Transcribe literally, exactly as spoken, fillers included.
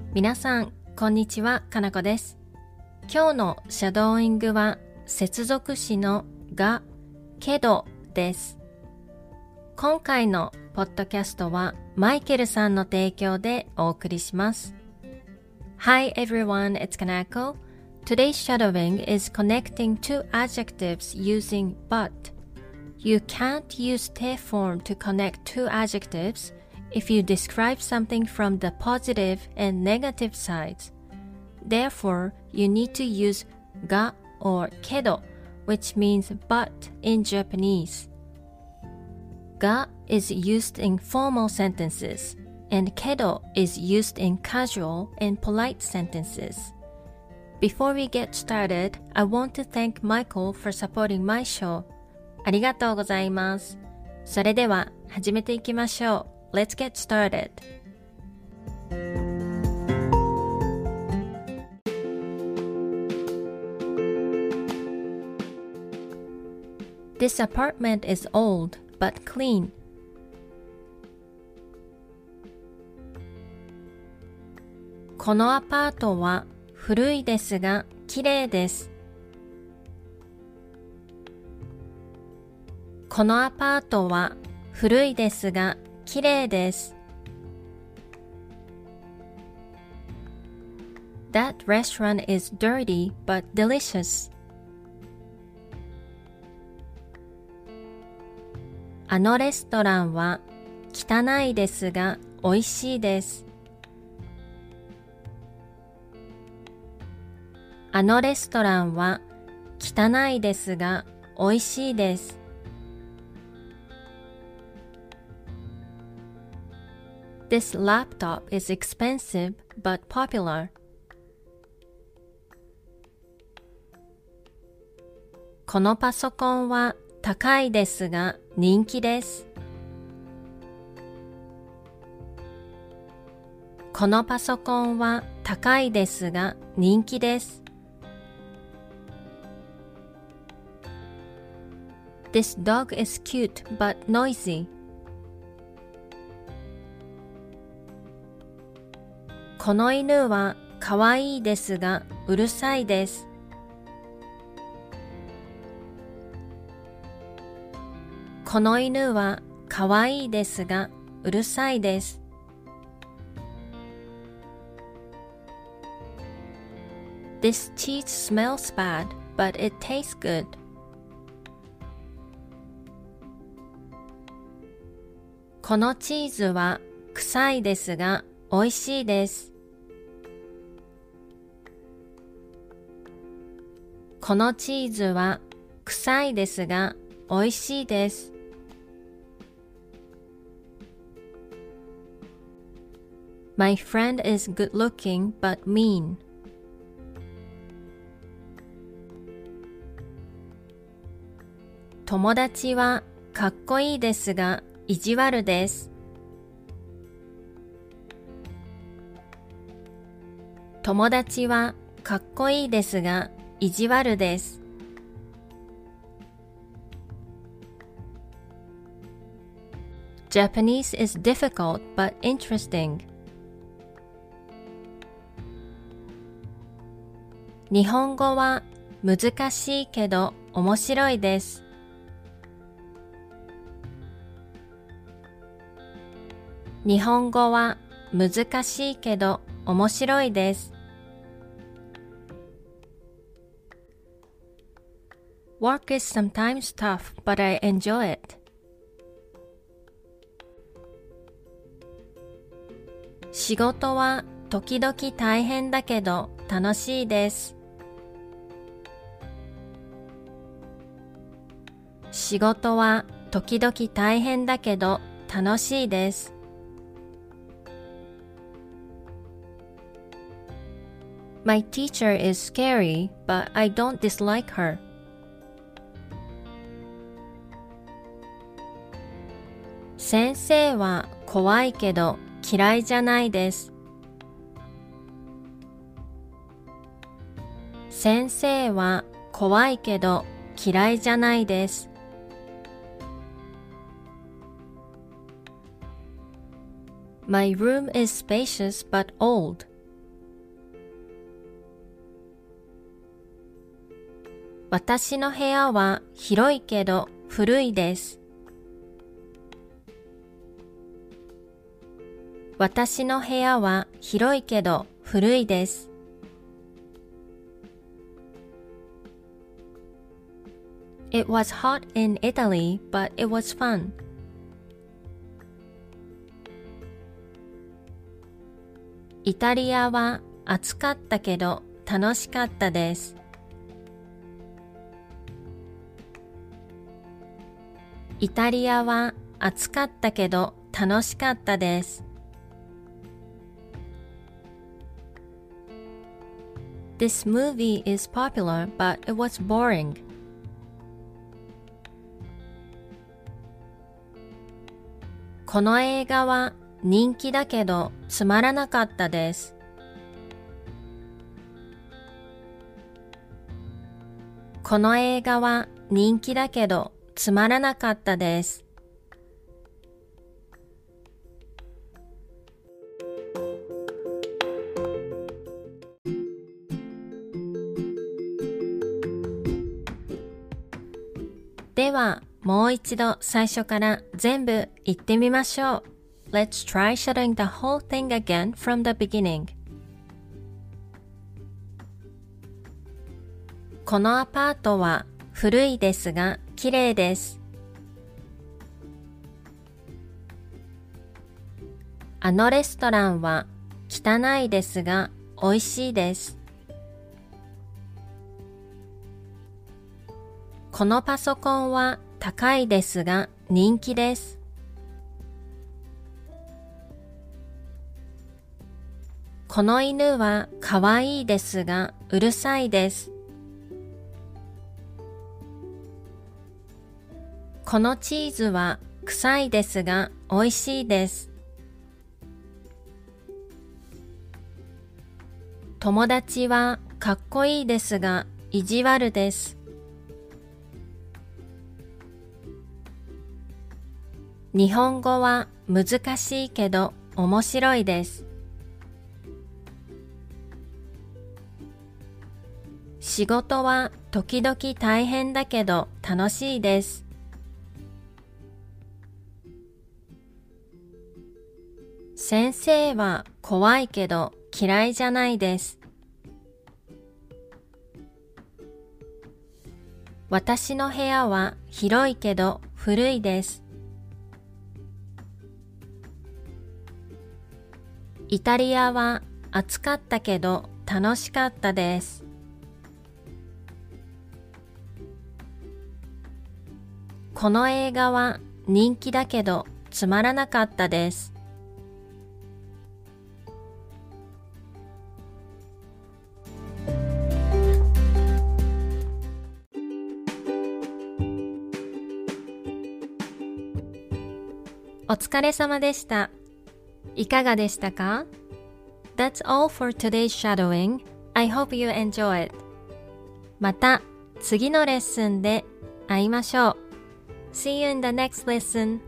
皆さん、こんにちは、かなこです。今日のシャドーイングは接続詞のが、けどです。今回のポッドキャストはマイケルさんの提供でお送りします。Hi everyone, it's Kanako. Today's shadowing is connecting two adjectives using but. You can't use te form to connect two adjectives if you describe something from the positive and negative sides. Therefore, you need to use ga or kedo, which means but in Japanese. Ga is used in formal sentences, and kedo is used in casual and polite sentences. Before we get started, I want to thank Michael for supporting my show. ありがとうございます。それでは始めていきましょう。Let's get started. This apartment is old but clean. このアパートは古いですがきれいです。このアパートは古いですがきれいです。That restaurant is dirty but delicious. あのレストランは汚いですが美味しいです。あのレストランは汚いですが美味しいです。This laptop is expensive but popular. このパソコンは高いですが人気です。このパソコンは高いですが人気です。This dog is cute but noisy. この犬はかわいいですがうるさいです。この犬はかわいいですがうるさいです。This cheese smells bad, but it tastes good. このチーズは臭いですが美味しいです。このチーズは臭いですが美味しいです。My friend is good looking but mean. 友達はかっこいいですが意地悪です。友達はかっこいいですが意地悪です。Japanese is difficult but interesting. 日本語は難しいけど面白いです。日本語は難しいけど面白いです。Work is sometimes tough, but I enjoy it. 仕事は時々大変だけど楽しいです。仕事は時々大変だけど楽しいです。My teacher is scary, but I don't dislike her. 先生は怖いけど嫌いじゃないです。先生は怖いけど嫌いじゃないです。My room is spacious but old. 私の部屋は広いけど古いです。私の部屋は広いけど古いです。It was hot in Italy, but it was fun. イタリアは暑かったけど楽しかったです。イタリアは暑かったけど楽しかったです。This movie is popular, but it was boring. この映画は人気だけどつまらなかったです。この映画は人気だけどつまらなかったです。では、もう一度最初から全部言ってみましょう。Let's try shouting the whole thing again from the beginning. このアパートは古いですが綺麗です。あのレストランは汚いですが美味しいです。このパソコンは高いですが人気です。この犬はかわいいですがうるさいです。このチーズは臭いですが美味しいです。友達はかっこいいですが意地悪です。日本語は難しいけど面白いです。仕事は時々大変だけど楽しいです。先生は怖いけど嫌いじゃないです。私の部屋は広いけど古いです。イタリアは暑かったけど楽しかったです。この映画は人気だけどつまらなかったです。お疲れ様でした。いかがでしたか？ That's all for today's shadowing. I hope you enjoy it. また次のレッスンで会いましょう。See you in the next lesson.